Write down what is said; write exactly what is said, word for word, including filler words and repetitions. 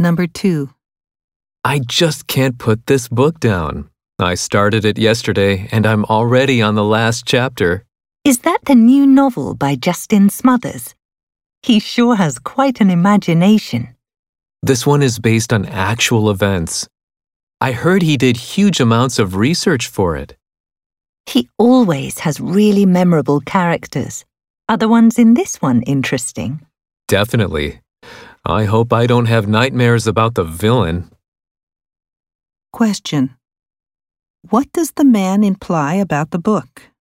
Number two. I just can't put this book down. I started it yesterday and I'm already on the last chapter. Is that the new novel by Justin Smothers? He sure has quite an imagination. This one is based on actual events. I heard he did huge amounts of research for it. He always has really memorable characters. Are the ones in this one interesting? Definitely. I hope I don't have nightmares about the villain. Question. What does the man imply about the book?